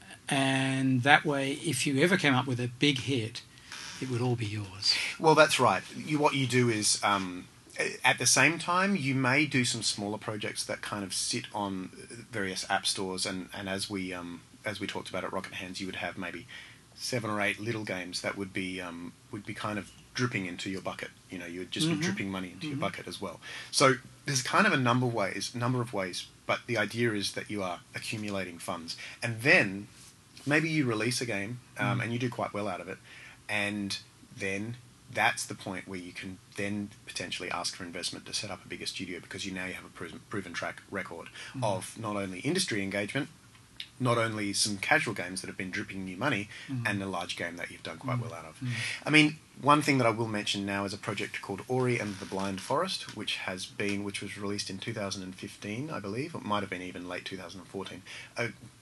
[SPEAKER 1] And that way, if you ever came up with a big hit, it would all be yours.
[SPEAKER 2] Well, that's right. You, what you do is, um, at the same time, you may do some smaller projects that kind of sit on various app stores, and, and as we um, as we talked about at Rocket Hands, you would have maybe seven or eight little games that would be um, would be kind of dripping into your bucket. You know, you would just mm-hmm. be dripping money into mm-hmm. your bucket as well. So there's kind of a number of ways, number of ways, but the idea is that you are accumulating funds, and then maybe you release a game um, mm. and you do quite well out of it, and then that's the point where you can then potentially ask for investment to set up a bigger studio, because you now you have a proven, proven track record mm. of not only industry engagement, not only some casual games that have been dripping you money, mm. and a large game that you've done quite mm. well out of. Mm. I mean, one thing that I will mention now is a project called Ori and the Blind Forest, which has been, which was released in two thousand fifteen, I believe. It might have been even late two thousand fourteen. A,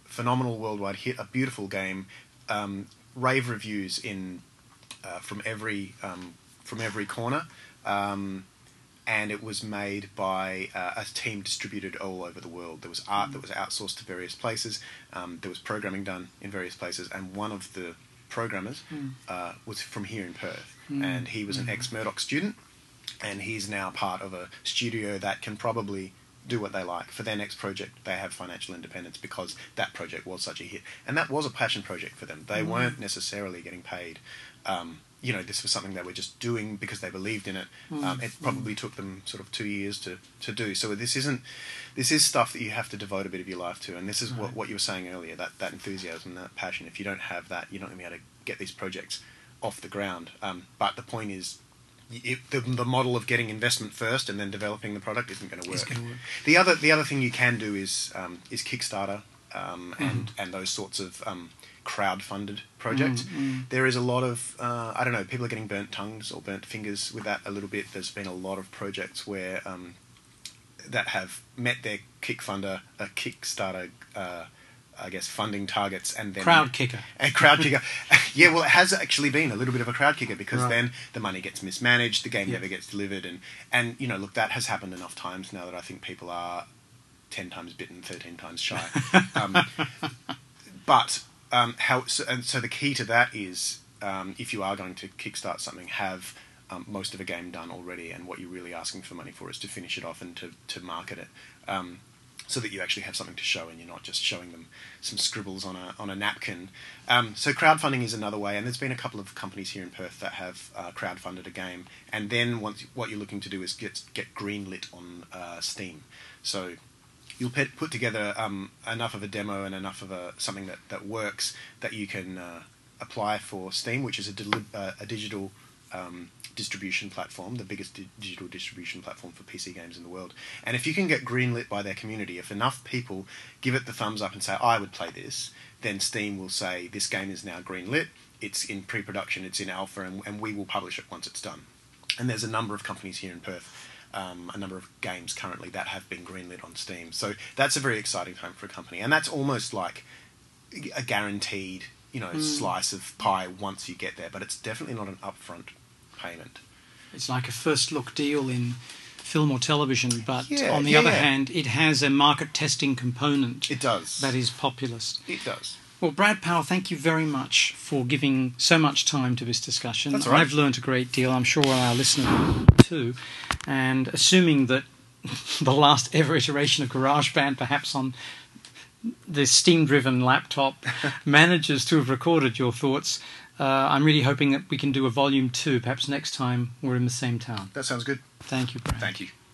[SPEAKER 2] phenomenal worldwide hit, a beautiful game, um, rave reviews in uh, from every um, from every corner, um, and it was made by uh, a team distributed all over the world. There was art that was outsourced to various places. Um, there was programming done in various places, and one of the programmers
[SPEAKER 1] Mm.
[SPEAKER 2] uh, was from here in Perth,
[SPEAKER 1] Mm.
[SPEAKER 2] and he was an
[SPEAKER 1] Mm.
[SPEAKER 2] ex-Murdoch student, and he's now part of a studio that can probably do what they like. For their next project, they have financial independence because that project was such a hit. And that was a passion project for them. They
[SPEAKER 1] Mm.
[SPEAKER 2] weren't necessarily getting paid. Um, you know, this was something they were just doing because they believed in it.
[SPEAKER 1] Mm.
[SPEAKER 2] Um, it probably took them sort of two years to, to do. So this isn't, this is stuff that you have to devote a bit of your life to. And this is
[SPEAKER 1] Right.
[SPEAKER 2] what, what you were saying earlier, that, that enthusiasm, that passion. If you don't have that, you're not going to be able to get these projects off the ground. Um, but the point is, It, the, the model of getting investment first and then developing the product isn't going to
[SPEAKER 1] It's
[SPEAKER 2] work.
[SPEAKER 1] gonna work.
[SPEAKER 2] The other the other thing you can do is um, is Kickstarter um, and and those sorts of um, crowd-funded projects.
[SPEAKER 1] Mm, mm.
[SPEAKER 2] There is a lot of uh, I don't know, people are getting burnt tongues or burnt fingers with that a little bit. There's been a lot of projects where um, that have met their Kickfunder, uh, Kickstarter. Uh, I guess funding targets and then
[SPEAKER 1] Crowd kicker.
[SPEAKER 2] A crowd kicker. Yeah, well, it has actually been a little bit of a crowd kicker because
[SPEAKER 1] Right.
[SPEAKER 2] then the money gets mismanaged, the game
[SPEAKER 1] Yeah.
[SPEAKER 2] never gets delivered, and and you know, look, that has happened enough times now that I think people are ten times bitten, thirteen times shy. um, but um, how? So, and so the key to that is um, if you are going to kickstart something, have um, most of a game done already, and what you're really asking for money for is to finish it off and to to market it. Um, so that you actually have something to show and you're not just showing them some scribbles on a on a napkin. Um, so crowdfunding is another way, and there's been a couple of companies here in Perth that have uh, crowdfunded a game, and then once what you're looking to do is get get greenlit on uh, Steam. So you'll put, put together um, enough of a demo and enough of a something that, that works that you can uh, apply for Steam, which is a, deli- uh, a digital um, distribution platform, the biggest di- digital distribution platform for P C games in the world. And if you can get greenlit by their community, if enough people give it the thumbs up and say, I would play this, then Steam will say, this game is now greenlit, it's in pre-production, it's in alpha, and, and we will publish it once it's done. And there's a number of companies here in Perth, um, a number of games currently that have been greenlit on Steam. So that's a very exciting time for a company. And that's almost like a guaranteed, you know,
[SPEAKER 1] Mm.
[SPEAKER 2] slice of pie once you get there. But it's definitely not an upfront payment.
[SPEAKER 1] It's like a first look deal in film or television, but
[SPEAKER 2] Yeah,
[SPEAKER 1] on the
[SPEAKER 2] yeah,
[SPEAKER 1] other
[SPEAKER 2] yeah.
[SPEAKER 1] hand, it has a market testing component
[SPEAKER 2] It does.
[SPEAKER 1] that is populist.
[SPEAKER 2] It does.
[SPEAKER 1] Well, Brad Powell, thank you very much for giving so much time to this discussion.
[SPEAKER 2] That's all right.
[SPEAKER 1] I've learnt a great deal. I'm sure our listeners too. And assuming that the last ever iteration of GarageBand, perhaps on the Steam-driven laptop, manages to have recorded your thoughts, uh, I'm really hoping that we can do a volume two, perhaps next time we're in the same town.
[SPEAKER 2] That sounds good.
[SPEAKER 1] Thank you, Brad.
[SPEAKER 2] Thank you.